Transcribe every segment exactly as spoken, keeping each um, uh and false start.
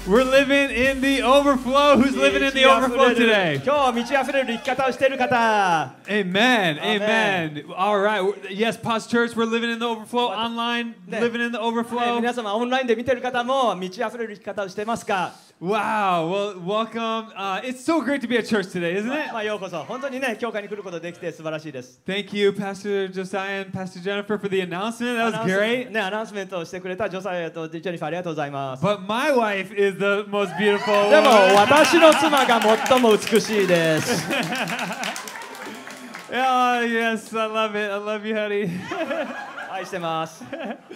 We're living in the overflow. Who's living in the overflow today? 今日は満ち溢れる生き方をしている方。 Amen. Amen. All right. Yes, Pause Church, we're living in the overflow. Online, living in the ね overflow. 皆様オンラインで見ている方も満ち溢れる生き方をしていますか？ Wow. Well, welcome. Uh, it's so great to be at church today, isn't ま it? あまあようこそ。本当にね教会に来ることができて素晴らしいです。 Thank you, Pastor Josiah and Pastor Jennifer, for the announcement. That ア was ナウンス great. ねアナウンスメントをしてくれたジョサイアとジェニファーありがとうございます。 But my wife is the most beautiful でも one. 私の妻が最も美しいです。 Oh, yes. I love it. I love you, honey. 愛してます。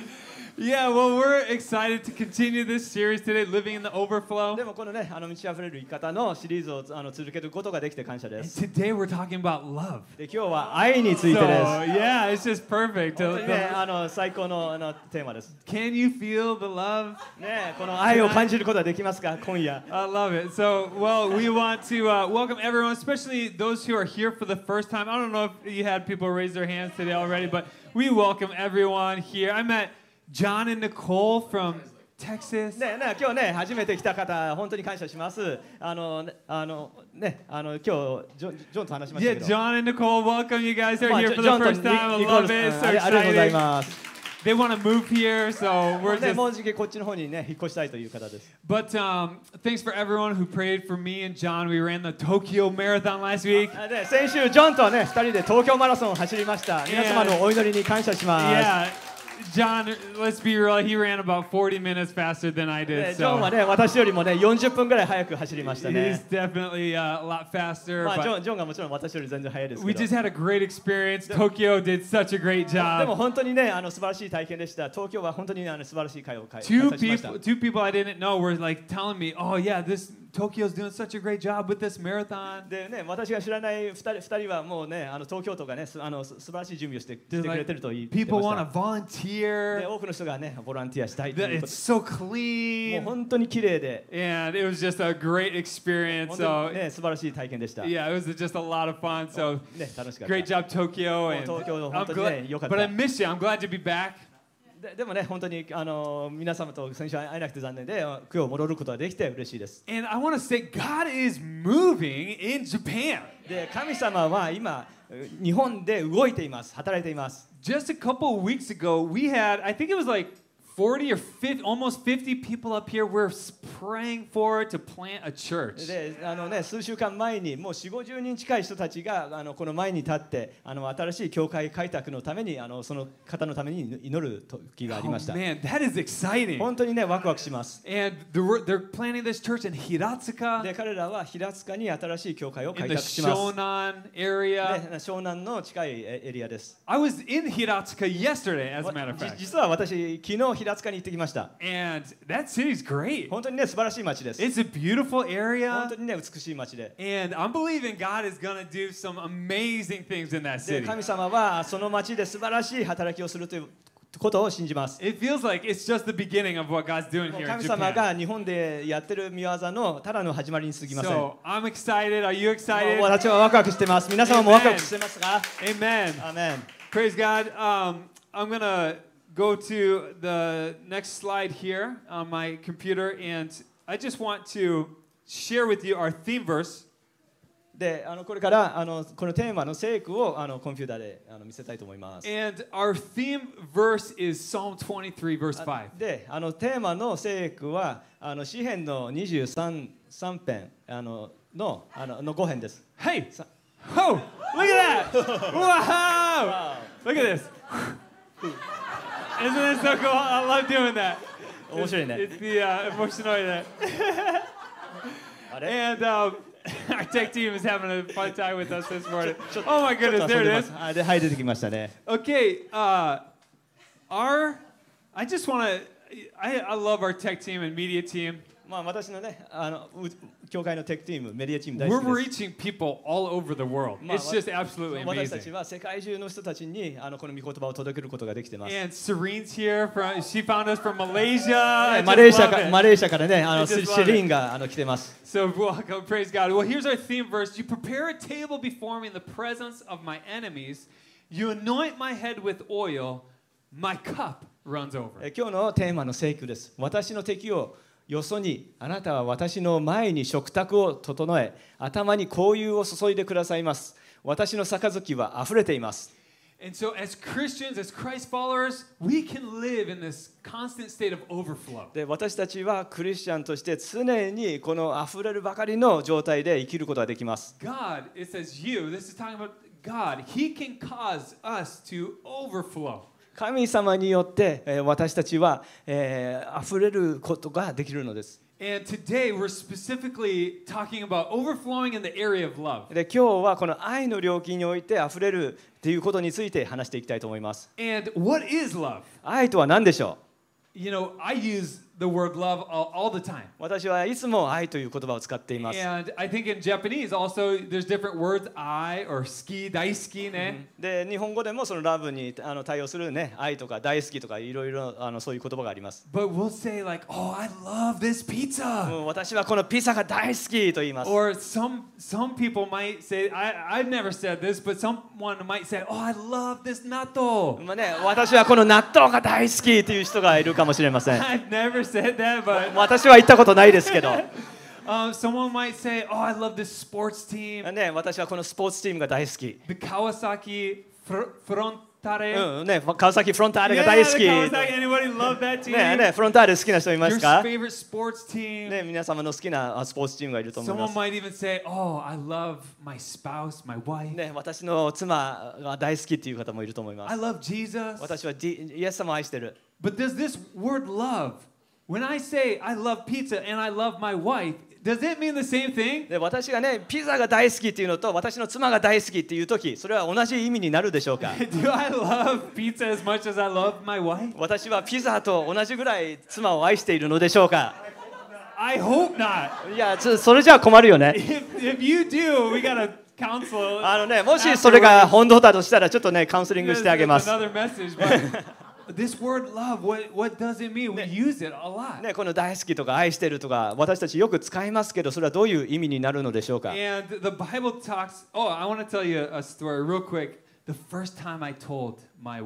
Yeah, well, we're excited to continue this series today, Living in the Overflow. でもこのねあの満ち溢れる生き方のシリーズをあの続けることができて感謝で And す。 today we're talking about love. で今日は愛につい So, てです。 yeah, it's just perfect. 本当にね The- あの最高のあのテーマです。 Can you feel the love? ねこの愛を感じることができますか今夜。 I love it. So, well, we want to uh, welcome everyone, especially those who are here for the first time. I don't know if you had people raise their hands today already, but we welcome everyone here. I met John and Nicole from Texas. ねね今日ね初めて来た方本当に感謝します。あのねあのねあの今日ジョンジョンと話しました Yeah, けど。 John and Nicole, welcome. You guys are まあ here ジ for ョ the ジョンと first time. I ニニコー love ル it. さん So ありありがとうござい excited. ます。 They want to move here, so we're ね just. もうじきこっちの方にね引っ越したいという方です。 But um, thanks for everyone who prayed for me and John. We ran the Tokyo Marathon last week. あで先週ジョンとねふたりで東京マラソンを走りました。皆様のお祈りに感謝します。 Yeah, John, let's be real. He ran about forty minutes faster than I ね did. ジョンは So ね私よりもねよんじゅっぷんぐらい早く走りました he's ね。 definitely uh, a lot faster. まあジョ But ンジョンがもちろん私より全然早いです we けど。 just had a great experience. Tokyo did such a great でも job. 本当にねあの素晴らしい体験でした。東京は本当にあの素晴らしい会を開開 Two 催しました。 people, two people I didn't know were like telling me, "Oh yeah, this Tokyo's doing such a great job with this marathon." でね私が知らないふたりふたりはもうねあの東京都がねすあのす素晴らしい準備をしてしてくれてると言って People ま want し to た。で volunteer. 多くの人がねボランティアしたいと That いうこ It's と so で。もう clean, 本当に綺麗で and it was just a great experience. 本当に So ね素晴らしい体験でした。ね yeah, it was just a lot of fun. So 楽しかった。 great job, Tokyo. And もう東京 I'm 本当にね、良かった。 glad, but I miss you. I'm glad to be back. ででもね本当にあの皆様と先週会えなくて残念で今日戻ることができて嬉しいです。 And I want to say, God is moving in Japan. で神様は今日本で動いています。働いています。 Just a couple of weeks ago, we had, I think it was like forty or fifty, almost fifty people up here. We're praying for to plant a church. であのね数週間前にもうよんじゅう、ごじゅうにん近い人たちがあのこの前に立ってあの新しい教会開拓のためにあのその方のために祈る時があり Oh ました。 man, that is exciting. 本当にねワクワクします。 And they're, they're planting this church in で Hiratsuka, 彼らは平塚に新しい教会を in 開 the 拓します。 Shonan area. ね、湘南の近いエリアです。 I was in Hiratsuka yesterday, as a matter of じ fact. 実は私昨日平塚に行ってきました。 And that city's great. 本当にね素晴らしい街です。 It's a beautiful 本 area. 当にね美しい街で。 And I'm believing God is going to do some amazing things in that で city. 神様はその街で素晴らしい働きをするということを信じます。 It feels like it's just the beginning of what God's doing もう here in 神様 Japan. が日本でやってる見業のただの始まりに過ぎません。も So I'm excited. Are you う excited? 私はワクワクしてます。皆様もワクワクしてますか？ Amen. アーメン。 Praise God. Um, I'm going to go to the next slide here on my computer, and I just want to share with you our theme verse. で、あのこれからあのこのテーマの聖句をあのコンピューターであの見せたいと思います。 And our theme verse is Psalm twenty-three, verse あ five. で、あのテーマの聖句はあの詩編のにじゅうさん編あののあののご編です。 Hey! さ Oh! Look at that! Wow! Look at this. Isn't that so cool? I love doing that. 面白いね。 It's the uh, emotional that. あれ？ And um, our tech team is having a fun time with us this morning. ちょっと Oh my ちょっ goodness, と遊 there んで it ま is. す。あで、はい、出てきましたね。 Okay, uh, our, I just want to, I, I love our tech team and media team. まあ私のね、あのう教会のテックチーム、メディアチーム大 We're 好きです。 reaching people all over the world. まあ It's just absolutely 私たち amazing. は世界中の人たちにあのこの御言葉を届けることができてます。 And Serene's here from, she found us from Malaysia. I マレー just シャ love か it. マレーシアからね、あの I シ just シ love リンがあの来てます。 So welcome, praise God. Well, here's our theme verse. You prepare a table before me in the presence of my enemies. You anoint my head with oil. My cup runs over. え今日のテーマの聖句です。私の敵をよそにあなたは私の前に食卓を整え、頭に香油を注いでくださいます。私の杯はあふれています。 And so, as Christians, as Christ followers, we can live in this constant state of overflow. で、私たちはクリスチャンとして常にこのあふれるばかりの状態で生きることができます。 God, it says you, this is talking about God, He can cause us to overflow. 神様によってえー私たちは、えー、あふれることができるのです。 And today we're specifically talking about overflowing in the area of love. で、今日はこの愛の領域においてあふれるということについて話していきたいと思います。 And what is love? 愛とは何でしょう？ You know, I use the word love all, all the time. 私はいつも愛という言葉を使っています。 And I think in Japanese also there's different words, I or ski, daisuki ね。 で、日本語でもそのラブにあの対応するね、愛とか大好きとかいろいろあのそういう言葉があります。 But we'll say like, oh, I love this も pizza. う私はこのピザが大好きと言います。 Or some some people might say, I, I've never said this, but someone might say, oh, I love this natto. まあね、私はこの納豆が大好きという人がいるかもしれません。 I've never said that, but 私は言ったことないですけど、 um, someone might say, oh, I love this sports team. ね、私はこのスポーツチームが大好き。 The Kawasaki fr- Frontale. うんね、川崎フロンターレが Yeah, 大好 the き。 Kawasaki. Anybody love that team? ねね、フロンターレ好きな人いま Your すか？ favorite sports team. ね、皆様の好きなあスポーツチームがいると思いま Someone す。 might even say, oh, I love my spouse, my wife. ね、私の妻が大好きっていう方もいると思いま I す。 love Jesus. 私はジイエス様を愛してる。 But does this word love, when I say I love pizza and I love my wife, does it mean the same thing? で、私がね、ピザが大好きっていうのと私の妻が大好きっていう時、それは同じ意味になるでしょうか？ Do I love pizza as much as I love my wife? 私はピザと同じぐらい妻を愛しているのでしょうか？ I hope not. いや、そそれじゃ困るよね。 If, if you do, we gotta counsel. あのね、もしそれが本当だとしたらちょっとね、カウンセリング There's, してあげま there's す。 another message, but this word love, what, what does it mean? We use it a lot. ね、この大好きとか愛してるとか私たちよく使いますけど、それはどういう意味になるのでしょうか？ And the Bible talks, oh, I want to tell you a story real quick. The first time I told my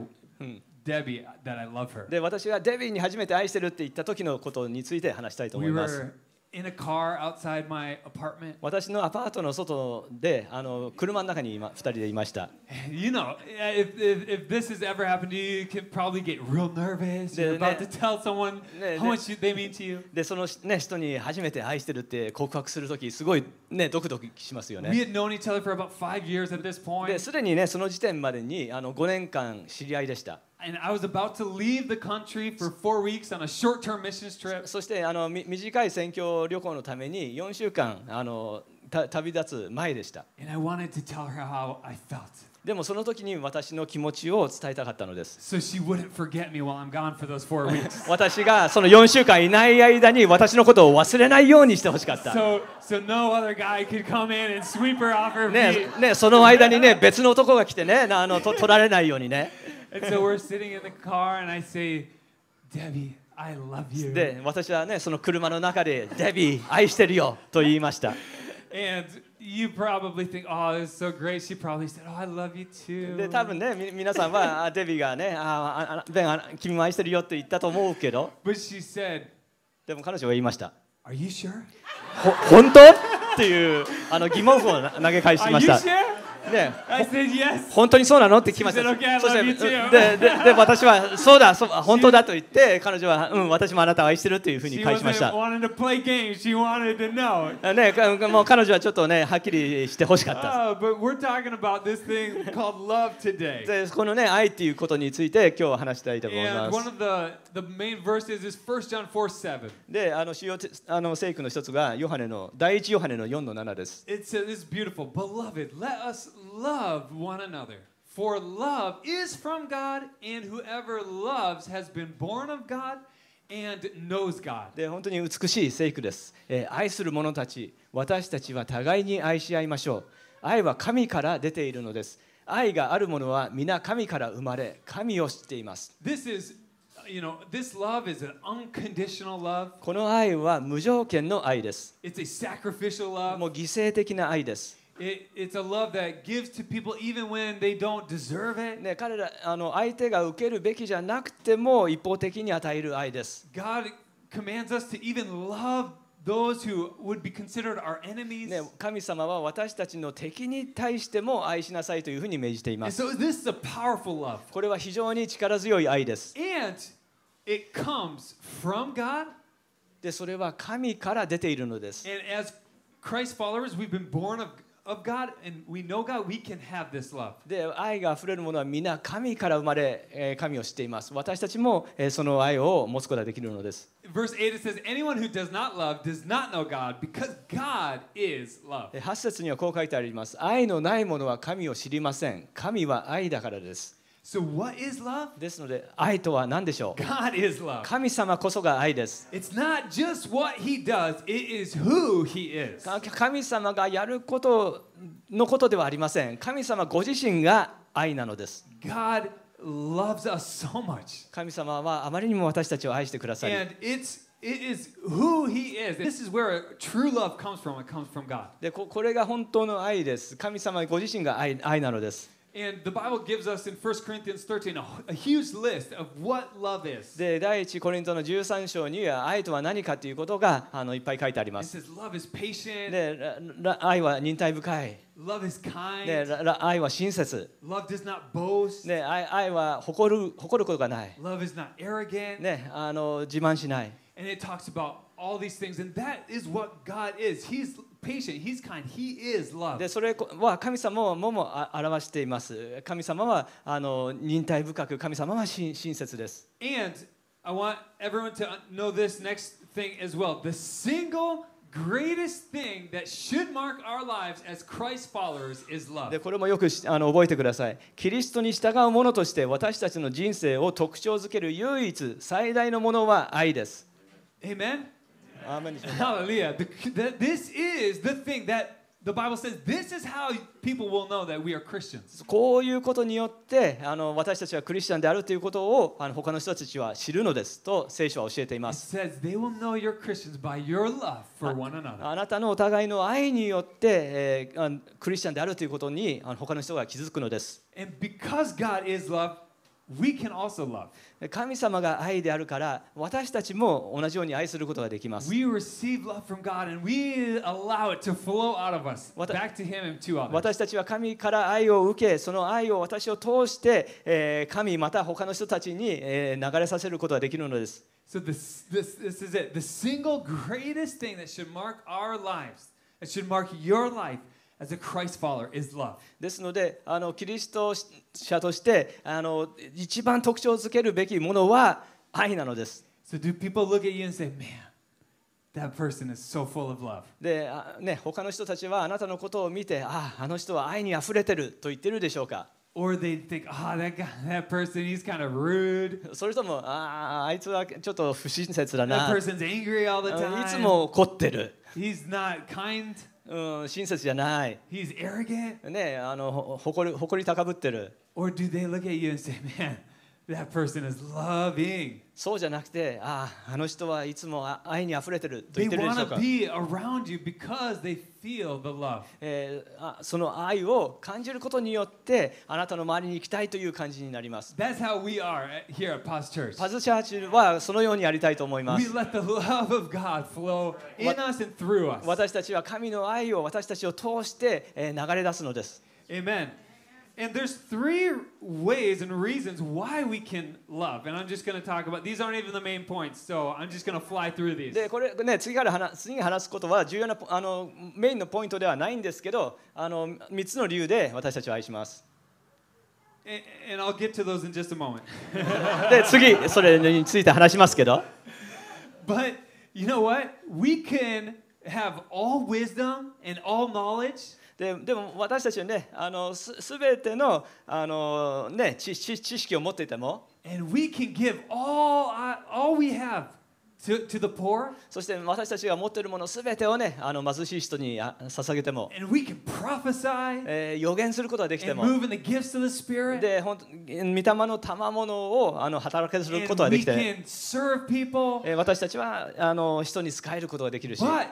Debbie that I love her. で、私がデビーに初めて愛してるって言った時のことについて話したいと思 We います。 were in a car outside my apartment. 私のアパートの外であの車の中に今ふたりでいました。 You know, if, if, if this has ever happened to you, you can probably get real nervous. You're about to tell someone how much they mean to you. で、その、ね、人に初めて愛してるって告白するとき、すごい、ね、ドクドクしますよ We ね。 had known each other for about five years at this で、 point. すでにね、その時点までにあのごねんかん知り合いでした。 And I was about to leave the country for four weeks on a short-term missions trip. そしてあのみ短い宣教旅行のためによんしゅうかんあのた旅立つ前でした。 And I wanted to tell her how I felt. でもその時に私の気持ちを伝えたかったのです。 So she wouldn't forget me while I'm gone for those four weeks. 私がそのよんしゅうかんいない間に私のことを忘れないようにしてほしかった。 So, so no other guy could come in and sweep her off her ね feet. ね、その間にね、別の男が来てね、あのと取られないようにね。 And so we're sitting in the car and I say, Debbie, I love you. で、私はね、その車の中で、デビー、愛してるよと言いました。 And you probably think, oh, this is so great. She probably said, oh, I love you too. で、多分ね、み皆さんはあデビーがね、あああベンあ、君も愛してるよって言ったと思うけど、 But she said, でも彼女は言いました。 are you sure? ほ本当っていうあの疑問符を投げ返し Are ま you した。 sure? ね、 I said, yes. 本当にそうなのって聞きました。 She said, "Okay, I そして love you too." ででで私はそうだそう本当だと言って彼女はうん私もあなたを愛してるっていうふうに She 返しました wasn't。wanting to play games. She wanted to know. ねかもう彼女はちょっとねはっきりしてほしかった。 Oh, but we're talking about this thing called love today. でこのね愛っていうことについて今日は話したいと思い And ま one す。 of the, the main verses is First John four seven. であの主要てあの聖句の一つがヨハネの第一ヨハネのよんのななです。 It says, this is beautiful. Beloved, let us love one another. For love is from God, and whoever loves has been born of God and knows God. で本当に美しい聖句です、えー愛する者たち私たちは互いに愛し合いましょう。愛は神から出ているのです。愛がある者は皆神から生まれ神を知っています。 This is, you know, this love is an unconditional love. この愛は無条件の愛です。 It's a sacrificial love. もう犠牲的な愛です。 It, it's a love that gives to people even when they don't deserve it. ね、彼らあの相手が受けるべきじゃなくても一方的に与える愛です。 God commands us to even love those who would be considered our enemies. ね、神様は私たちの敵に対しても愛しなさいというふうに命じていま And す。 so this is a powerful love. これは非常に力強い愛です。 And it comes from God. で、それは神から出ているのです。 And as Christ followers, we've been born of, of God, and we know God, we can have this love. で、愛があふれるものは皆神から生まれ、えー神を知っています。私たちも、えーその愛を持つことができるのです。 Verse eight, it says, anyone who does not love does not know God, because God is love. ではち節にはこう書いてあります。愛のない者は神を知りません。神は愛だからです。 So what is love? ですので、愛とは何でしょう。 God is love. 神様こそが愛です。 It's not just what he does, it is who he is. か神様がやることのことではありません。神様ご自身が愛なのです。 God loves us so much. 神様はあまりにも私たちを愛してくださり、 And it's it is who he is. This is where true love comes from. It comes from God. でここれが本当の愛です。神様ご自身が 愛, 愛なのです。 And the Bible gives us in First Corinthians thirteen a, a huge list of what love is. で第一コリントのじゅうさん章には愛とは何かということがあのいっぱい書いてありま It す。 says love is patient, でらら愛は忍耐深い。 love is kind, でらら愛は親切。 love does not boast, で愛愛は誇る誇ることがない。 love is not arrogant. ね、あの自慢しない。 And it talks about all these things, and that is what God is. He's patient, He's kind, He is love. でそれは神様ももあ表しています。神様はあの忍耐深く、神様は親親切です。 And I want everyone to know this next thing as well. The single greatest thing that should mark our lives as Christ followers is love. でこれもよくあの覚えてください。キリストに従う者として私たちの人生を特徴づける唯一最大のものは愛です。 Amen? アーメンでしょうか。 Hallelujah. The, the, this is the thing that the Bible says, this is how people will know that we are Christians. こういうことによってあの私たちはクリスチャンであるということをあの他の人たちは知るのですと聖書は教えていま It す。 says they will know you're Christians by your love for one another. あなたのお互いの愛によって、えー、あのクリスチャンであるということにあの他の人が気づくのです。 And because God is love, we can also love. 神様が愛であるから私たちも同じように愛することができます。 We receive love from God and we allow it to flow out of us わた back to Him and to others. 私たちは神から愛を受け、その愛を私を通して、えー神また他の人たちに、えー流れさせることができるのです。 So this, this, this is it. The single greatest thing that should mark our lives, that should mark your life as a Christ follower is love. ですので、あのキリスト者としてあの一番特徴づけるべきものは愛なのです。 So do people look at you and say, man, that person is so full of love? で、あね、他の人たちはあなたのことを見て、ああ、あの人は愛にあふれてると言ってるでしょうか。 Or they think, oh, that guy, that person, he's kind of rude. それとも、ああ、あいつはちょっと不親切だ That な。 person's angry all the いつ time. も怒ってる。 He's not kind. うん、親切じゃない。 He's arrogant. ね、あのほ誇り誇り高ぶってる。 Or do they look at you and say, man, that person is loving? そうじゃなくて、ああ、あの人はいつもあ愛にあふれてると言 They ってるでしょう want か。 to be around you because they feel the love. えーあその愛を感じることによってあなたの周りに行きたいという感じになります。 That's how we are at- here at Paz Church. パズチャーチはそのようにやりたいと思いま We す。 let the love of God flow in us and through us. 私たちは神の愛を私たちを通してえー流れ出すのです。 Amen. And there's three ways and reasons why we can love. And I'm just going to talk about, these aren't even the main points, so I'm just going to fly through these. でこれね次から話次に話すことは重要なあのメインのポイントではないんですけど、あのみっつの理由で私たちを愛します。 And, and I'll get to those in just a moment. で次それについて話しますけど。 But you know what? We can have all wisdom and all knowledge. で, でも私たちはね、あのすべての、あの、ね、知, 知, 知識を持っていても、 And we can give all, uh, all we have to, to the poor. そして私たちが持っているものすべてをね、あの貧しい人にあ捧げても、 And we can prophesy えー予言することができて and も、 move in the gifts of the Spirit. で本当御霊の賜物をあの働かせること And がで we きて、 can serve people. えー私たちはあの人に仕えることができるし、 But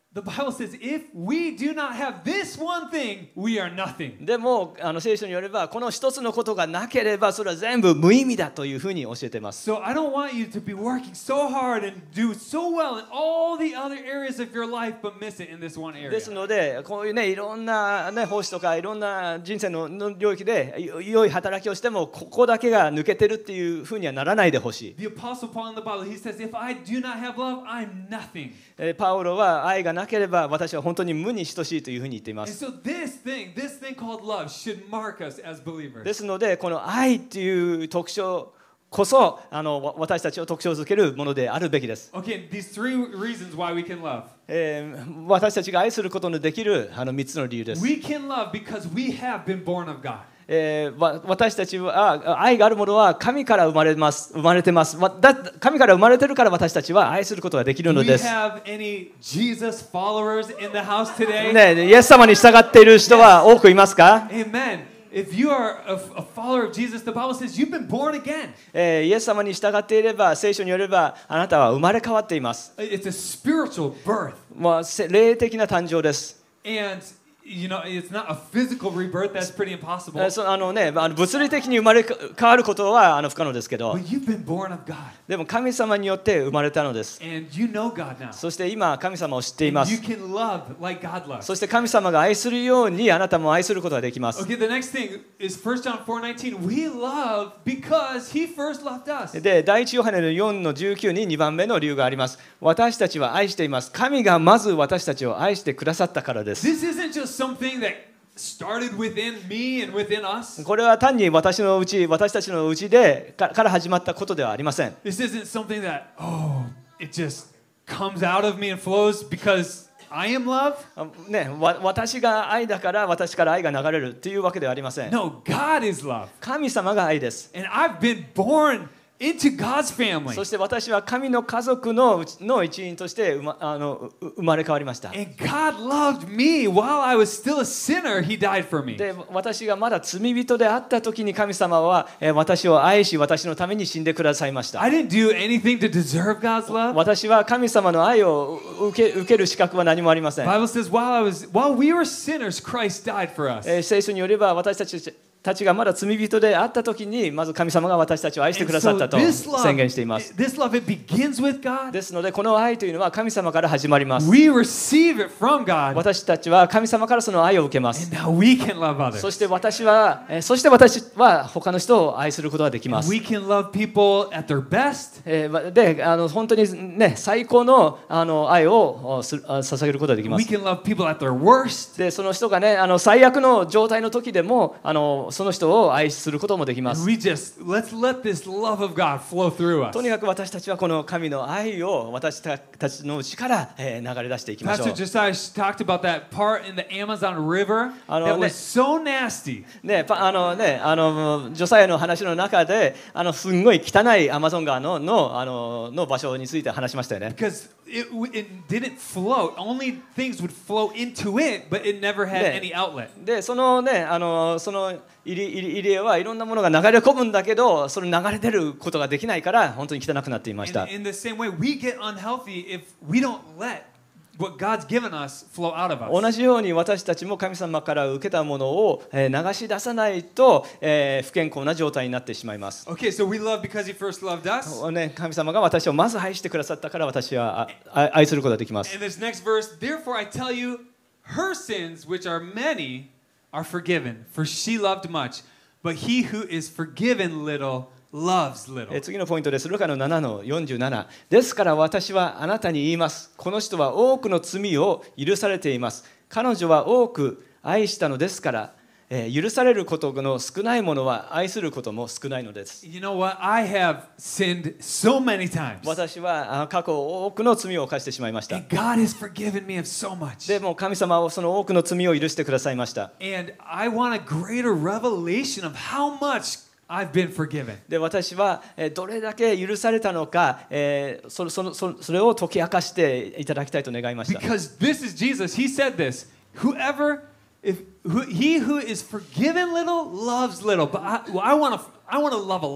The Bible says, if we do not have this one thing, we are nothing. でもあの聖書によればこの一つのことがなければそれは全部無意味だというふうに教えています。 So I don't want you to be working so hard and do so well in all the other areas of your life, but miss it in this one area. ですのでこういうねいろんなね奉仕とかいろんな人生のの領域で良い働きをしてもここだけが抜けてるっていうふうにはならないでほしい。 The Apostle Paul in the Bible, he says, if I do not have love, I'm nothing. えーパウロは愛がなければ私は本当に無に等しいというふうに言っていま And す。 so this thing, this thing called love should mark us as believers. ですのでこの愛っていう特徴こそあのわ私たちを特徴づけるものであるべきです。 Okay, these three reasons why we can love. えー私たちが愛することのできるあのみっつの理由です。 We can love because we have been born of God. えーわ私たちは愛があるものは神から生まれます生まれてます。わだ神から生まれてるから私たちは愛することができる Do の we です。 have any Jesus followers in the house today? ね、イエス様に従っている人は多くいますか？ Amen. If you are a, a follower of Jesus, the Bible says you've been born again. えーイエス様に従っていれば聖書によればあなたは生まれ変わっています。 It's a spiritual birth. まあ、せ霊的な誕生です。 And, you know, it's not a physical rebirth. That's pretty え impossible. ーそあのね、あの物理的に生まれ変わることはあの不可能ですけど、 But you've been born of God. でも神様によって生まれたのです。 And you know God now. そして今神様を知っていま And you す。 can love like God loves. そして神様が愛するようにあなたも愛することができます。 Okay, the next thing is First John four nineteen. We love because He first loved us. で、第一ヨハネのよんのじゅうきゅうににばんめの理由があります。私たちは愛しています。神がまず私たちを愛してくださったからです。 This isn't just something that started within me and within us. これは単に私のうち、私たちのうちでかから始まったことではありません。 This isn't something that, oh, it just comes out of me and flows because I am love. あね、わ私が愛だから私から愛が流れるというわけではありません。 No, God is love. 神様が愛です。 And I've been born into God's family. そして私は神の家族のうちの一員として生まあのう生まれ変わりました。 And God loved me while I was still a sinner. He died for me. で、私がまだ罪人であった時に神様はえー私を愛し、私のために死んでくださいました。 I didn't do anything to deserve God's love. 私は神様の愛を受け、受ける資格は何もありません。 The Bible says while I was while we were sinners, Christ died for us. えー聖書によれば私たちたちがまだ罪人であった時にまず神様が私たちを愛してくださったと And so this 宣 love, 言しています。 this love, it begins with God. ですのでこの愛というのは神様から始まります。 We receive it from God. 私たちは神様からその愛を受けます。 And now we can love そ others. して私は、えーそして私は他の人を愛することができま And す。 we can love people at their best. えーで、あの本当にね最高のあの愛をすあ捧げることができま We す。 can love people at their worst. で、その人がねあの最悪の状態の時でもあのその人を愛することもできま And す。 we just let's let this love of God flow through us. とにかく私たちはこの神の愛を私たちの内から、えー流れ出していきましょ Pastor う。 Josiah talked about that part in the Amazon River I know, that was ne- so nasty. ね、パあのね、あのジョサヤの話の中で、あのすんごい汚いアマゾン川ののあのの場所について話しましたよね。 Because it, it didn't flow. Only things would flow into it, but it never had Ne. any outlet. で、そのね、あのその入り入り入り江はいろんなものが流れ込むんだけど、その流れ出ることができないから本当に汚くなっていました And。in the same way, we get unhealthy if we don't let what God's given us flow out of 同 us. じように私たちも神様から受けたものをえー流し出さないと、えー不健康な状態になってしまいます。 Okay, so we love because He first loved us. ね、神様が私をまず愛してくださったから私はああ愛することができます。 In this next verse, therefore I tell you, her sins, which are many, are forgiven, for she loved much. But he who is forgiven little loves little. えー次のポイントです。ルカのななのよんじゅうなな。ですから私はあなたに言います。この人は多くの罪を許されています。彼女は多く愛したのですから、えー許されることの少ないものは愛することも少ないのです。 You know what? I have sinned so many times. 私はあ過去多くの罪を犯してしまいました。 And God has forgiven me of so much. でも神様はその多くの罪を許してくださいました。 And I want a greater revelation of how much I've been forgiven. で私はえーどれだけ許されたのか、えーそそのそそれを解き明かしていただきたいと願いました。 Because this is Jesus. He said this. Whoever, if who, he who is forgiven little loves little. But I, well, I want to, I want to love a lot.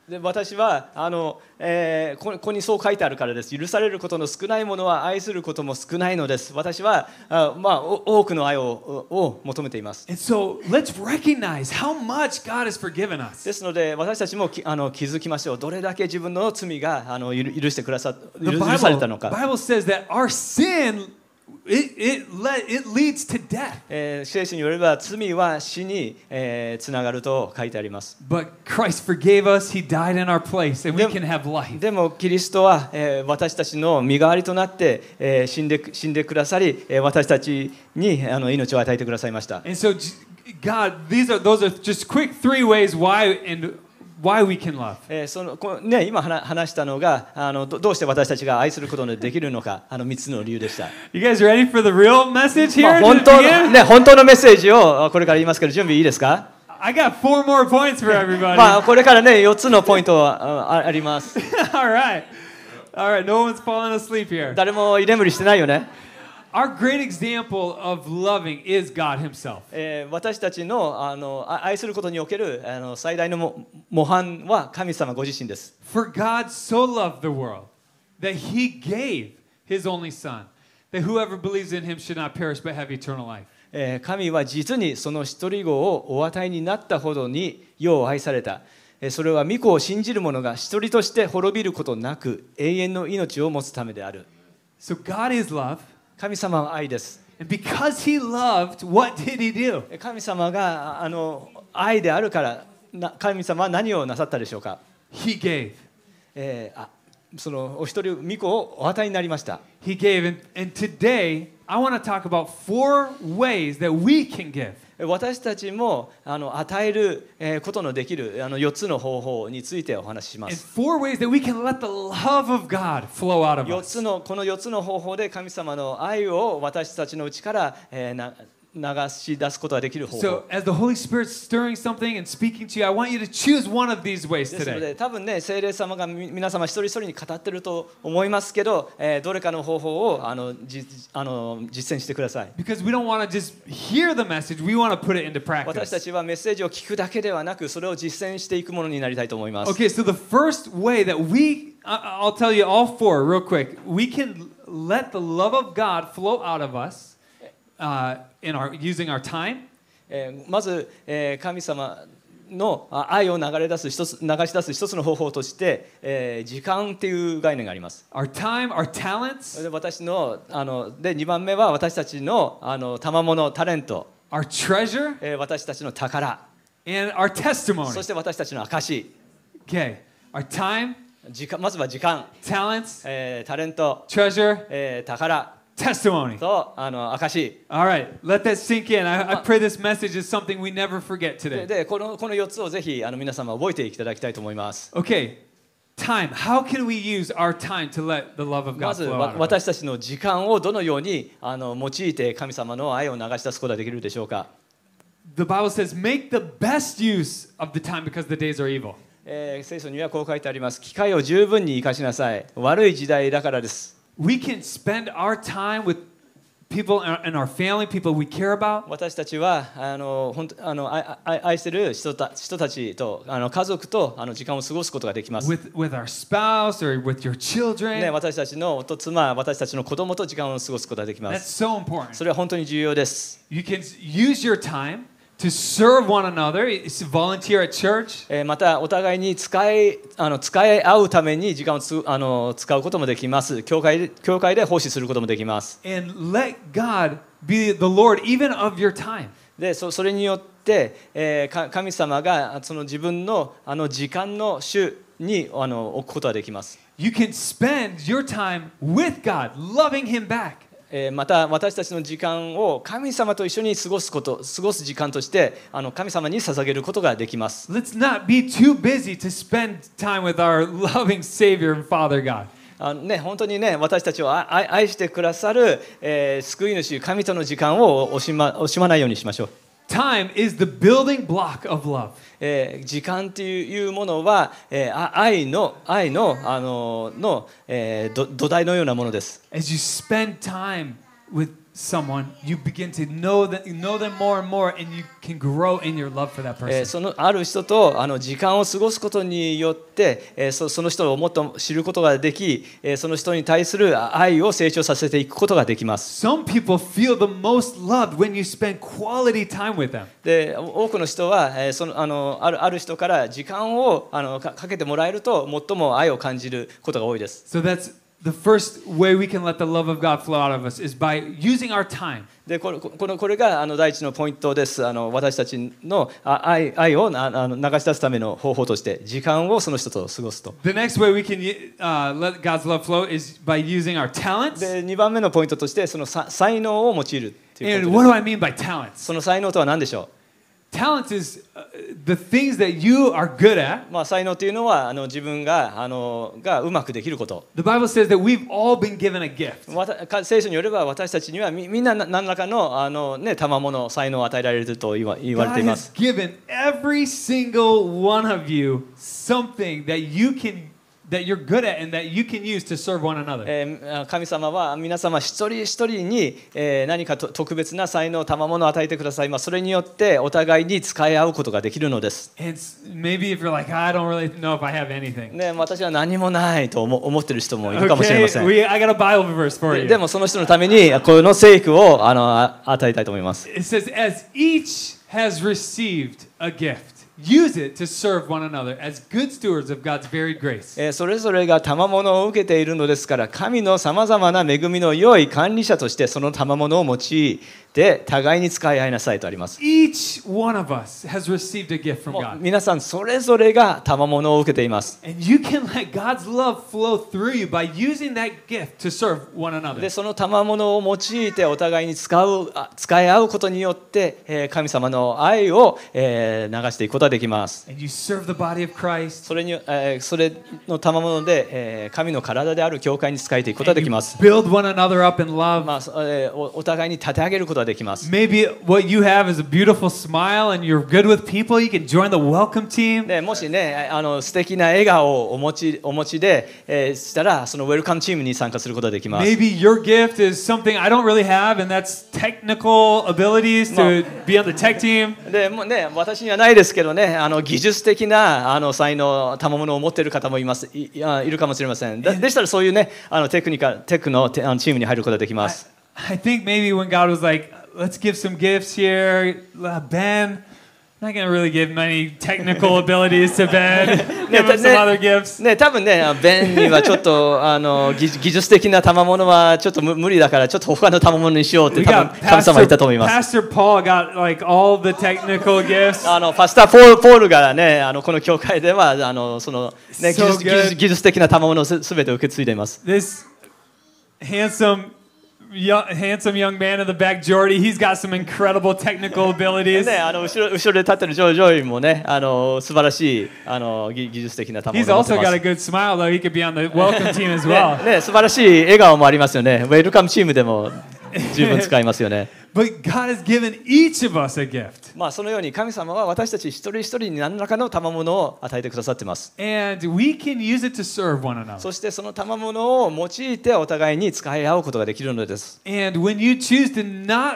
で私はあの、えー、こここにそう書いてあるからです。許されることの少ないものは愛することも少ないのです。私はあ、まあ、お多くの愛を、を求めています。 And so let's recognize how much God has forgiven us. ですので私たちもきあの気づきましょう。どれだけ自分の罪があの許許してくださ The 許許されたの Bible, か。 Bible says that our sin it it, le, it leads to death. えー、聖書によれば罪は死に、えー、つながると書いてあります。 But Christ forgave us. He died in our place, and we can have life. でもキリストは、えー、私たちの身代わりとなって、えー、死んで死んでくださり、えー、私たちにあの命を与えてくださいました。 And so, God, these are those are just quick three ways why and why we can love. えー、そのこのね、今話話したのがあの ど, どうして私たちが愛することのできるのか、あのみっつの理由でした。 You guys ready for the real message まあ here? 本当の、ね、本当のメッセージをこれから言いますけど、準備いいですか？ I got four more points for everybody. まあこれからねよっつのポイントは あ, あります。 All right, all right. No one's falling asleep here. 誰も居眠りしてないよね。 Our great example of loving is God Himself. えー、私たちの、あの愛することにおけるあの最大のも模範は神様ご自身です。 For God so loved the world that He gave His only Son, that whoever believes in Him should not perish but have eternal life. えー、神は実にその一人子をお与えになったほどに世を愛された。えー、それは御子を信じる者が一人として滅びることなく永遠の命を持つためである。 So God is love. 神様は愛です。 And because He loved, what did He do? 神様があの愛であるからな、神様は何をなさったでしょうか？ He gave. えー、あそのお一人御子をお与えになりました。 He gave. And, and today, I want to talk about four ways that we can give. 私たちもあの与えることのできるあのよっつの方法についてお話ししま And す。 four ways that we can let the love of God flow out of 4 us. つのこのよっつの方法で神様の愛を私たちのうちから、えー、な流し出すことができる方法。 So, as the Holy Spirit's stirring something and speaking to you, I want you to choose one of these ways ですの today. で多分ね聖霊様がみ皆様一人一人に語ってると思いますけど、えー、どれかの方法をあのじあの実践してください。 Because we don't want to just hear the message, we want to put it into 私た practice. ちはメッセージを聞くだけではなく、それを実践していくものになりたいと思います。 Okay, so the first way that we, I- I'll tell you all four real quick. We can let the love of God flow out of us uh, in our using our time. えーまず、えー神様のあ愛を流れ出す一つ流し出す一つの方法として、えー時間っていう概念があります。 Our time, our talents, で私のあのでにばんめは私たちのあの賜物タレント、 our treasure, えー私たちの宝、 and our そ testimony. して私たちの証。 Okay, our time, 時間まずは時間、 talents, えータレント、 treasure, えー宝 testimony. とあの証。 All right, let that sink in. I, I pray this message is something we never forget で today. でこのこのよっつをぜひあの皆様覚えていただきたいと思います。 Okay, time. How can we use our time to let the love of ま God ず flow わ out of us? 私たちの時間をどのようにあの用いて神様の愛を流し出すことができるでしょうか。 The Bible says, make the best use of the time because the days are evil. えー聖書にはこう書いてあります。機会を十分に生かしなさい。悪い時代だからです。 We can spend our time with people in our- in our family, people we care about, 私たちはあの本当あの愛愛愛してる人た人たちとあの家族とあの時間を過ごすことができます。 with, with our spouse or with your ね、 children. 私たちの夫妻、私たちの子供と時間を過ごすことができま That's す。 so important. それは本当に重要です。 You can use your time to serve one another, it's volunteer at church, えーまたお互いに使いあの使い合うために時間をつあの使うこともできます。教会で教会で奉仕することもできます。 and let God be the Lord even of your time. で そ, それによって、えーか神様がその自分のあの時間の主にあの置くことができます。 You can spend your time with God, loving Him back. えーまた私たちの時間を神様と一緒に過ごすこと過ごす時間としてあの神様に捧げることができます。 Let's not be too busy to spend time with our loving Savior and Father God. あのね、本当にね私たちを愛愛してくださる、えー救い主神との時間を惜しま惜しまないようにしましょう。 Time is the building block of love. えー時間っていうものは、えーあ愛の愛のあのの、えーど土台のようなものです。 As you spend time with someone, you begin to know that you know them more and more, and you can grow in your love for that えー person. そのある人とあの時間を過ごすことによって、えーそその人をもっと知ることができ、えーその人に対する愛を成長させていくことができます。 Some people feel the most loved when you spend quality time with them. で多くの人は、えーそのあのあるある人から時間をあのかかけてもらえると最も愛を感じることが多いです。 So that's the first way we can let the love of God flow out of us is by using our time. でこれこのこれがあの第一のポイントです。あの私たちのあ愛愛をなあの流し出すための方法として時間をその人と過ごすと。 The next way we can uh, let God's love flow is by using our talents. でにばんめのポイントとしてそのさ才能を用いるという And こと what です。 do I mean by talents? その才能とは何でしょ Talents is uh, the things that you are good at. う。まあ才能というのはあの自分があのがうまくできること。 The Bible says that we've all been given a gift. わたか聖書によれば私たちにはみみんなな何らかのあのね賜物才能を与えられると言わ言われ God ていま has す。 given every single one of you something that you can that you're good at and that you can use to serve one another. えー神様は皆様一人一人に、えー何かと特別な才能賜物を与えてください。まあそれによってお互いに使い合うことができるのです。 And maybe if you're like, I don't really know if I have anything. ね、私は何もないと思思っている人もいるかもしれませ Okay, ん。 we, I got a Bible verse for で you. でもその人のためにこの聖句をあのあ与えたいと思います。 It says, as each has received a gift, use it to serve one another as good stewards of God's varied grace. えーそれぞれが賜物を受けているのですから、神のさまざまな恵みの良い管理者としてその賜物を用いて互いに使い合いなさいとあります。 Each one of us has received a gift from もう God. 皆さんそれぞれが賜物を受けています。 And you can let God's love flow through you by using that gift to serve one another. でその賜物を用いてお互いに使うあ使い合うことによって、えー神様の愛を、えー流していくことができます。 And you serve the body of Christ. それに、えーそれの賜物で、えー神の体である教会に使えていくことがで And き you ます。 build one another up in love. まあそえーおお互いに立て上げることができます。 Maybe what you have is a beautiful smile and you're good with people. You can join the welcome team. でもしね、あの素敵な笑顔をお持ちお持ちで、えーしたら、そのウェルカムチームに参加することができます。 Maybe your gift is something I don't really have, and that's technical abilities to be on the tech team. でもうね、私にはないですけどね、あの技術的なあの才能、賜物を持っている方もいます、い、いやいるかもしれません。で、でしたらそういうね、あのテクニカル、テクの、テあのチームに入ることができます。 I think maybe when God was like, let's give some gifts here, uh, Ben, I'm not going to really give many technical abilities to Ben. Give him some other gifts. ね、多分ね、ベンにはちょっとあの技技術的な賜物はちょっと無無理だから、ちょっと他の賜物にしようって We 多 got 分神様は言ったと思います。 Pastor, Pastor Paul got like all the technical gifts. あのパスターポールポールがね、あのこの教会ではあのその、ね、技 So 術技術 good. 技術的な賜物をすすべて受け継いでいます。 This handsome, young, handsome young man in the back, Jordy, he's got some incredible technical abilities. ね、あの後ろ後ろで立ってるジョージョイもね、あの素晴らしいあの技技術的な賜 He's 物を持って also ま got す。 a good smile, though. He could be on the welcome team as well. ねね、素晴らしい笑顔もありますよね。ウェルカムチームでも十分使いますよね。 But God has given each of us a gift. まあそのように神様は私たち一人一人に何らかの賜物を与えてくださっています。 And we can use it to serve one another. そしてその賜物を用いてお互いに使い合うことができるのです。 And when you choose to not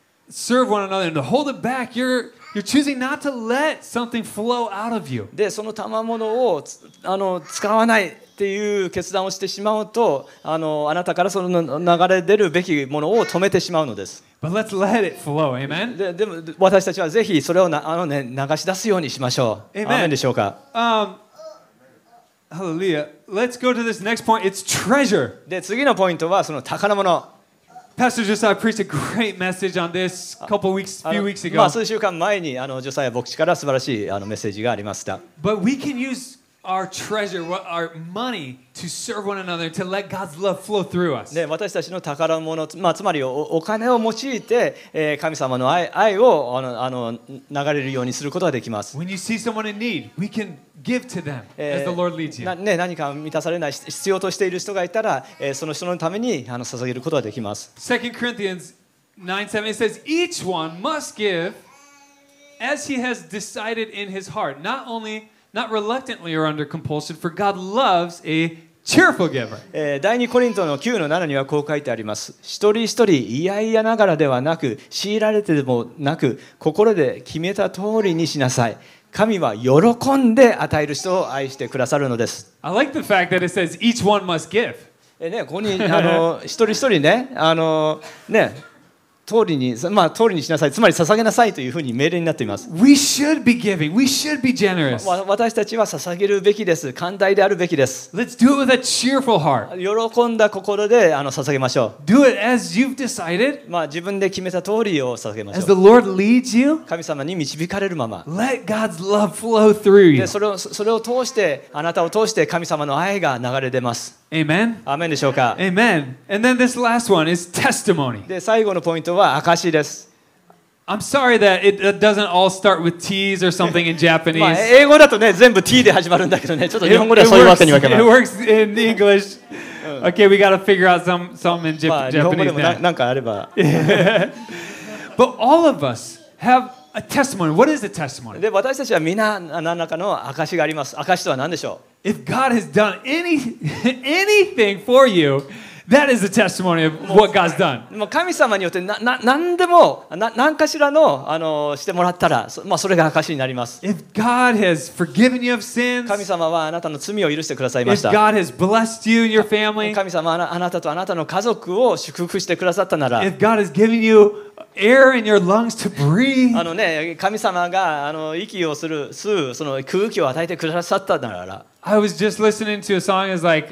serve one another and to hold it back, you're you're choosing not to let something flow out of you. でその賜物をつあの使わないっていう決断をしてしまうと、あのあなたからその流れ出るべきものを止めてしまうのです。 But let's let it flow. Amen. ででも私たちはぜひそれをなあの、ね、流し出すようにしましょう。 Amen. アーメンでしょうか。 Um, hallelujah. Let's go to this next point. It's treasure. で次のポイントはその宝物。 Pastor Josiah preached a great message on this a couple weeks, あ few の weeks まあ ago. 数週間前にあのジョサヤ牧師から素晴らしいあのメッセージがありました。 But we can use our treasure, what- our money, to serve one another, to let God's love flow through us. で私たちの宝物、まあ、つまりおお金を用いて、えー神様の愛愛をあのあの流れるようにすることができます。 When you see someone in need, we can give to them え as the Lord leads ー you. なね、何か満たされない必要としている人がいたら、えーその人のためにあの捧げることができます。 Second Corinthians nine seven, it says, each one must give as he has decided in his heart, not only, not reluctantly or under compulsion, for God loves a cheerful giver. えー、第二コリントのきゅうのななにはこう書いてあります。一人一人嫌々ながらではなく、強いられてでもなく、心で決めた通りにしなさい。神は喜んで与える人を愛してくださるのです。 I like the fact that it says each one must give. えね、ここにあの一人一人ね、あのね。通りに、まあ、通りにしなさい、つまり捧げなさいというふうに命令になっています。 We should be giving. We should be generous. わ私たちは捧げるべきです。寛大であるべきです。 Let's do it with a cheerful heart. 喜んだ心であの捧げましょう。 Do it as you've decided. まあ、自分で決めた通りを捧げましょう。 As the Lord leads you. 神様に導かれるまま。 Let God's love flow through you. でそれを、それを通して、あなたを通して神様の愛が流れ出ます。 Amen. アーメンでしょうか。 Amen. And then this last one is testimony. で、最後のポイントは証です。 I'm sorry that it doesn't all start with T's or something in Japanese. まあ、英語だとね、全部 T で始まるんだけどね、ちょっと日本語ではそういうわけにはいかない。 It works in English. Okay, we got to figure out some some in Japanese. まあ、日本語でもななんかあれば。 But all of us have a testimony. What is a testimony? で、私たちはみんな何らかの証があります。証とは何でしょう If God has done any, anything for you, that is a testimony of what God's done. もう神様によってなな何でもな何かしらのあのしてもらったら、そまあそれが証になります。 If God has forgiven you of sins, 神様はあなたの罪を許してくださいまし if た。 God has blessed you and your family, 神様はあなあなたとあなたの家族を祝福してくださったなら、 if God has given you air in your lungs to breathe, あのね、神様があの息をする吸うその空気を与えてくださったなら、 I was just listening to a song is like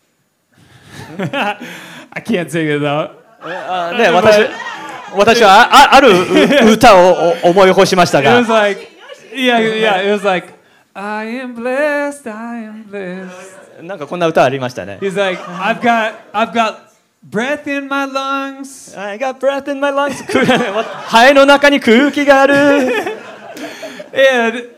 I can't sing it though. あね、私私はあある歌を思い起こしました It が was like, yeah, yeah, it was like, I am blessed, I am blessed. なんかこんな歌ありましたね。 He's like, I've got, I've got breath in my lungs. I got breath in my lungs. 肺の中に空気がある。 And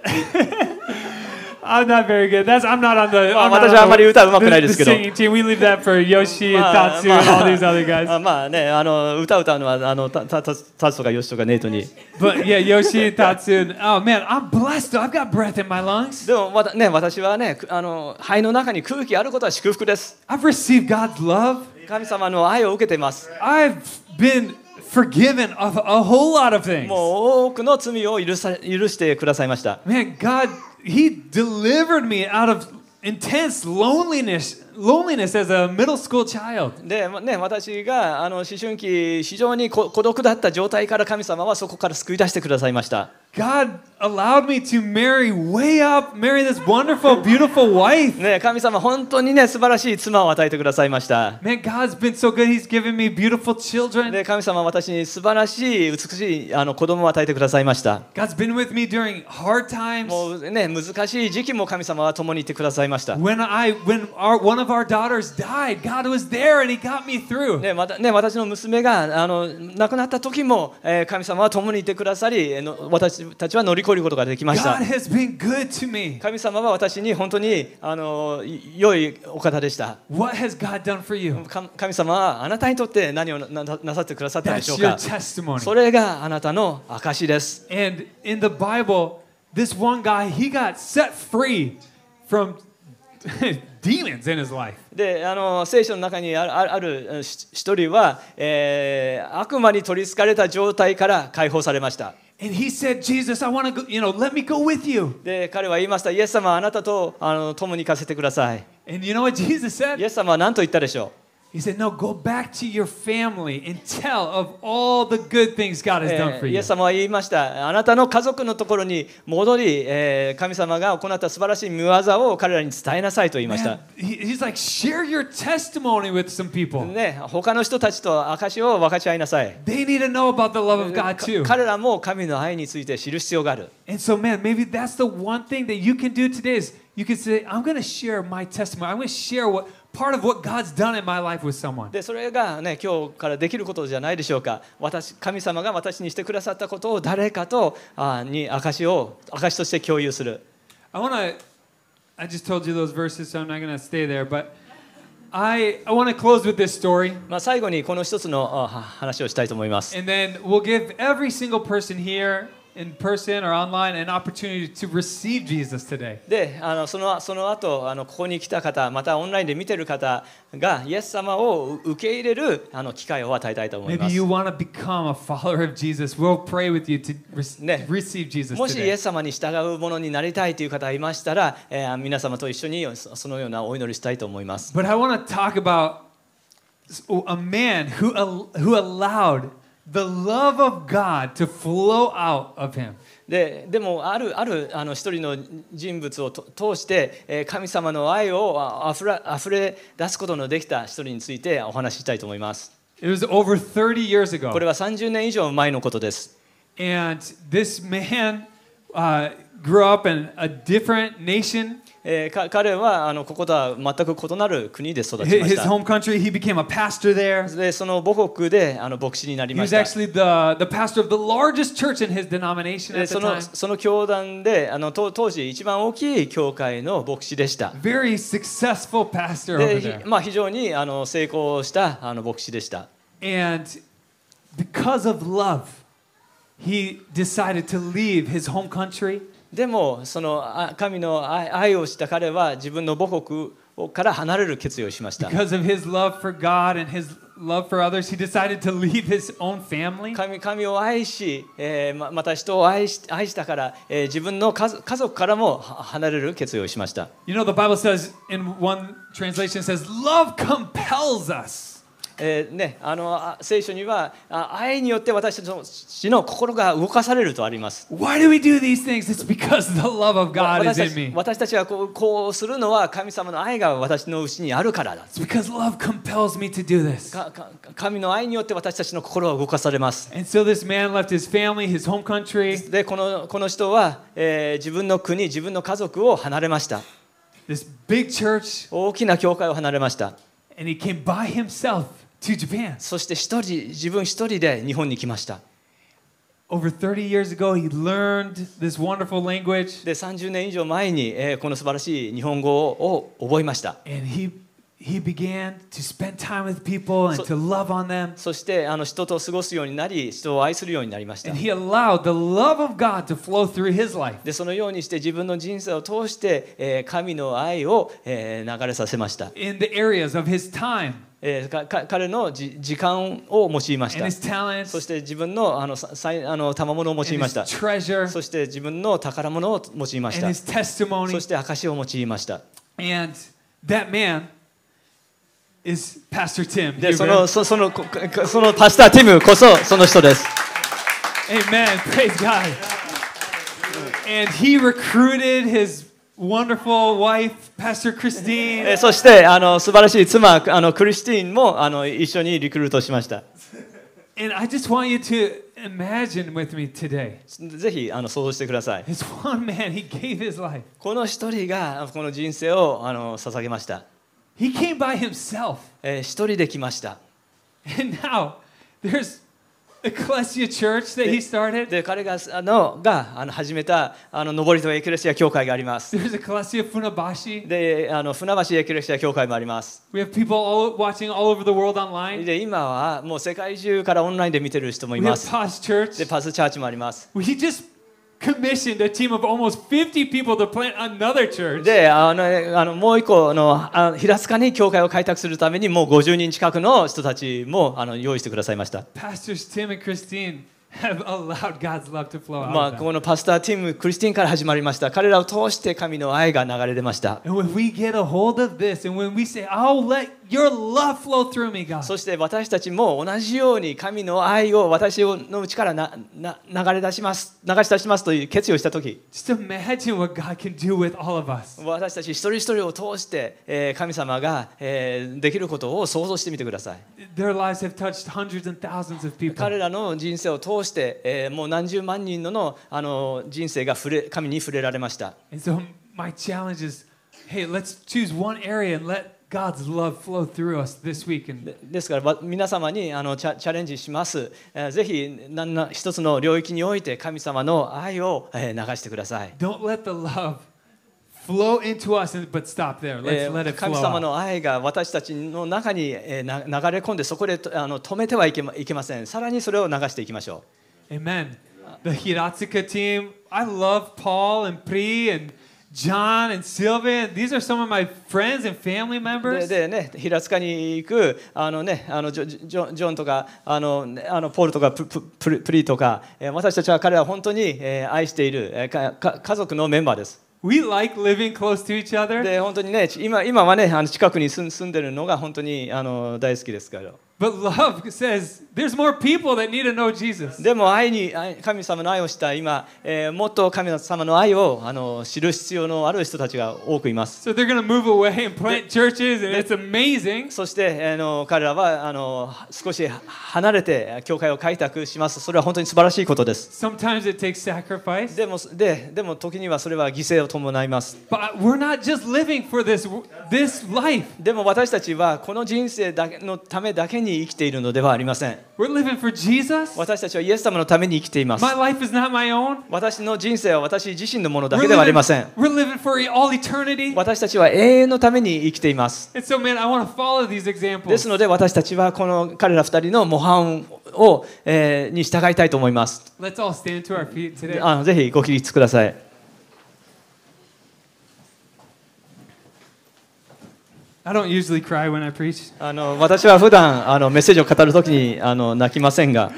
I'm not very good. That's I'm not on the. まあ I'm not 私はあんまり on 歌うま the, くない the, です the けど。 singing team. We leave that for Yoshi and まあ Tatsu and all these other guys. あまあね、あの歌歌うのはあのたたたタツとかヨシとかネイトに。 But yeah, Yoshi and Tatsu. And, oh man, I'm blessed. I've got breath in my lungs. でもまたね、私はね、あの肺の中に空気あることは祝福です。 I've received God's love. 神様の愛を受けています。 I've been forgiven of a whole lot of things. もう多くの罪を許さ許してくださいました。 Man, God, He delivered me out of intense loneliness, loneliness as a middle school child. で、ね、私があの思春期非常にこ孤独だった状態から神様はそこから救い出してくださいました。 God allowed me to marry way up, marry this wonderful, beautiful wife. ね、神様本当にね素晴らしい妻を与えてくださいました。 Man, God's been so good. He's given me beautiful children. で、神様は私に素晴らしい美しいあの子供を与えてくださいました。 God's been with me during hard times. もうね難しい時期も神様は共にいてくださいました。 When I, when our, one of our daughters died, God was there and He got me through. ね、またね、私の娘があの亡くなった時も、えー、神様は共にいてくださり、えの私たちは乗り越えることができました。 God has been good to me. 神様は私に本当にあの良いお方でした。 What has God done for you? か神様はあなたにとって何を な, なさってくださったでしょ That's う your か。 testimony. それがあなたの証です。 And in the Bible, this one guy, he got set free from demons in his life. で、あの聖書の中にある、ある一人は、えー、悪魔に取り憑かれた状態から解放されました。 And he said, Jesus, I want to go, you know, let me go with you. で、彼は言いました。イエス様はあなたとあの共に行かせてください。 And you know what Jesus イ said? エス様は何と言ったでしょう。 He said, no, go back to your family and tell of all the good things God has done for イ you. エス様は言いました。あなたの家族のところに戻り、えー、神様が行った素晴らしい見業を彼らに伝えなさいと言いました。 Man, he- he's like, share your testimony with some people. ね、他の人たちと証を分かち合いなさい。 They need to know about the love of God か too. 彼らも神の愛について知る必要がある。 And so, man, maybe that's the one thing that you can do today is you can say, I'm going to share my testimony. I'm going to share what part of what God's done in my life with someone. でそれが、ね、今日からできることじゃないでしょうか。私神様が私にしてくださったことを誰かとあに証を証として共有する。 I want to, I just told you those verses, so I'm not going to stay there, but I, I want to close with this story. まあ、最後にこの一つのあ話をしたいと思います。 And then we'll give every single person here in person or online an opportunity to receive Jesus today. で、あのそのその後あのここに来た方、またオンラインで見てる方がイエス様を受け入れるあの機会を与えたいと思いま Maybe す。 you want to become a follower of Jesus. We'll pray with you to re- ね。 receive Jesus もしイ today. エス様に従うものになりたいという方がいましたら、えー皆様と一緒にそそのようなお祈りしたいと思います。 But I want to talk about a man who al- who allowed the love of God to flow out of him. で, でもあるあるあの一人の人物をと通して、えー神様の愛をああふれあふれ出すことのできた一人についてお話ししたいと思います。 It was over thirty years こ ago. れはさんじゅうねん以上前のことです。 And this man uh, grew up in a different nation. えーか彼はあのこことは全く異なる国で育ち His まし his た。 home country, he became a pastor there. でその母国であの牧師になり He ま was した。 actually the, the pastor of the largest church in his denomination で at the その time. その教団であの当当時一番大きい教会の牧師でした。 Very successful pastor で over ひ there. まあ、非常にあの成功したあの牧師でした。 And because of love, he decided to leave his home country. でもそのあ神の愛愛をした彼は自分の母国から離れる決意をしました。 Because of his love for God and his love for others, he decided to leave his own family. 神, 神を愛し、えーま、また人を愛し愛したから、えー自分の家族家族からもは離れる決意をしました。 You know, the Bible says, in one translation, says, love compels us. えーね、あのあ聖書にはあ愛によって私たちの心が動かされるとあります。 Why do we do these things? It's because the love of God 私 is た in ち me. 私たちはこう、こうするのは神様の愛が私のうちにあるからだ。 It's because love compels me to do this. かか神の愛によって私たちの心は動かされます。 And so this man left his family, his home country, でこのこの人は、えー自分の国、自分の家族を離れました。 this big church, 大きな教会を離れました。 and he came by himself to Japan. そして一人自分一人で日本に来ました。 Over thirty years ago, he learned this wonderful language, でさんじゅうねん以上前に、えーこの素晴らしい日本語を覚えました。 and he he began to spend time with people and So- to love on them. そしてあの人と過ごすようになり、人を愛するようになりました。 And he allowed the love of God to flow through his life. でそのようにして自分の人生を通して、えー神の愛を、えー流れさせました。 In the areas of his time えーかか彼のじ時間を用いまし and た。 his talents そして自分のあのささいあの賜物を用 and いま his した。 treasure そして自分の宝物を用いまし and た。 his testimony. そして証を用いました。 And that man is Pastor Tim. で、そ Huber. のそそのこそのパスターティムこそその人です。 Amen. Praise God. And he recruited his wonderful wife, Pastor え Christine. ーそしてあの素晴らしい妻あのクリスティーンもあの一緒にリクルートしました。 And I just want you to imagine with me today. ぜひあの想像してください。 This one man, he gave his life. この一人がこの人生をあの捧げました。 He came by himself. えー一人で来ました。 And now there's Ecclesia Church that he started. で彼があのがあの始めたあの登戸エクレシア教会があります。 There's Ecclesia Funabashi. であの船橋エクレシア教会もあります。 We have people all watching all over the world online. で今はもう世界中からオンラインで見てる人もい We have ます。 Paz Church. でパスチャーチもあります。 We just commissioned a team of almost fifty people to plant another church. であのあのもう一個のあ平塚に教会を開拓するためにもうごじゅうにん近くの人たちもあの用意してくださいました。 Pastors Tim and Christine have allowed God's love to flow out まあ of them. このパスターティムクリスティンから始まりました。彼らを通して神の愛が流れ出ました。 And when we get a hold of this and when we say, I'll let your love flow through me, God. そして私たちも同じように神の愛を私の内からなな流れ出します流し出しますという決意をしたとき、 Just imagine what God can do with all of us. 私たち一人一人を通して、えー神様が、えーできることを想像してみてください。 Their lives have touched hundreds and thousands of people. 彼らの人生を通して、えーもう何十万人ののあの人生が触れ神に触れられました。 And so my challenge is, hey, let's choose one area and let God's love flow through us this week. And でですからわ皆様にあのチャチャレンジします。えーぜひ何な一つの領域において神様の愛を、えー流してください。 don't let the love flow into us, and, but stop there. え Let's ー let it 神 flow 様 out. の愛が私たちの中に、えーな流れ込んでそこでとあの止めてはいけまいけません。さらにそれを流していきましょ Amen. the Hiratsuka team. I love Paul and Pri and John and Sylvia. These are some of my friends and family で members. でね、平塚に行くあの、ね、あのジョジョジョンとかあのあのポールとかププププリとか、えー私たちは彼らは本当に、えー愛している、えーかか家族のメンバーです。 We like living close to each other. で本当にね、今今はね、あの近くに住ん住んでるのが本当にあの大好きですから。 But love says there's more people that need to know Jesus. でも愛に愛神様の愛をした今、えーもっと神様の愛をあの知る必要のある人たちが多くいます。 So they're going to move away and plant churches, and it's amazing. そしてあの彼らはあの少し離れて教会を開拓します。それは本当に素晴らしいことです。 Sometimes it takes sacrifice. でもででも時にはそれは犠牲を伴います。 But we're not just living for this this life. でも私たちはこの人生だけのためだけに生きているのではありません。 We're living for Jesus. 私たちはイエス様のために生きています。 My life is not my own. 私の人生は私自身のものだ We're けではあり living, ません。 we're living for all eternity. 私たちは永遠のために生きています。 And so, man, I want to follow these で examples. すので私たちはこの彼ら二人の模範を、えーに従いたいと思います。 Let's all stand to our feet today. あのぜひご起立ください。 I don't usually cry when I preach. あの私は普段あのメッセージを語るときにあの泣きませんが、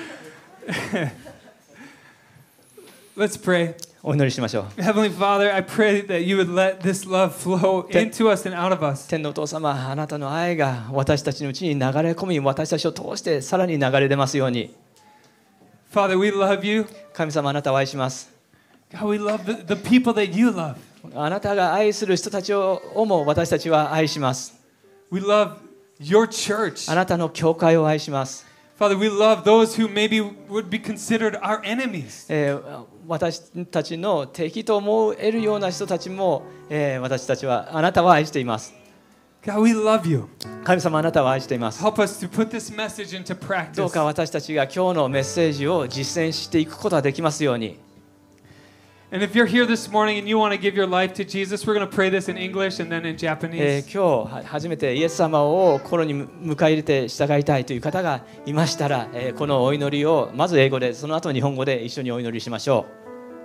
Let's pray. お祈りしましょう。 Heavenly Father, I pray that you would let this love flow into us and out of us. 天のお父様、あなたの愛が私たちのうちに流れ込み、私たちを通してさらに流れ出ますように。 Father, we love you. 神様、あなたを愛します。 God, we love the, the people that you love. あなたが愛する人たちをも私たちは愛します。 We love your church. あなたの教会を愛します。 Father, we love those who maybe would be considered our enemies. えー私たちの敵と思えるような人たちも、えー私たちはあなたは愛しています。 God, we love you. 神様、あなたは愛しています。 Help us to put this message into どう practice. か私たちが今日のメッセージを実践していくことができますように。 And if you're here this morning and you want to give your life to Jesus, we're going to pray this in English and then in え Japanese. ー今日は初めてイエス様を心に迎え入れて従いたいという方がいましたら、えーこのお祈りをまず英語で、その後日本語で一緒にお祈りしましょ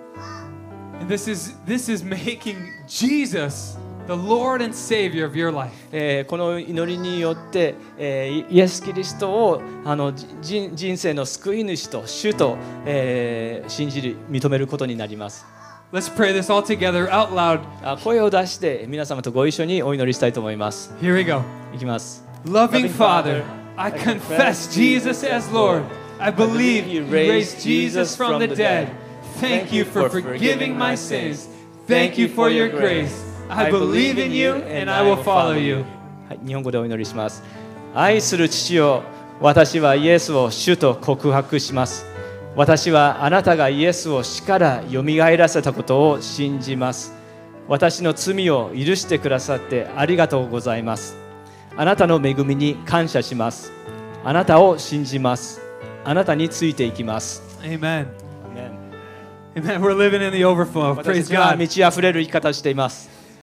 And this is this is making Jesus the Lord and Savior of your life. う。えーこの祈りによって、えーイエス・キリストをあのじ人生の救い主と主と、えー信じる認めることになります。 Let's pray this all together out loud. あ声を出して皆様とご一緒にお祈りしたいと思います。 Here we go. いきます。 Loving Father, I confess Jesus as Lord. I believe you raised Jesus from the dead. Thank you for forgiving my sins. Thank you for your grace. I believe in you and I will follow you. はい、日本語でお祈りします。愛する父よ、私はイエスを主と告白します。私はあなたがイエスを死からよみがえらせたことを信じます。私の罪を許してくださってありがとうございます。あなたの恵みに感謝します。あなたを信じます。あなたについていきます。 Amen. Amen. We're living in the overflow. 私た Praise ちは God. 満ち溢れる生き方をしています。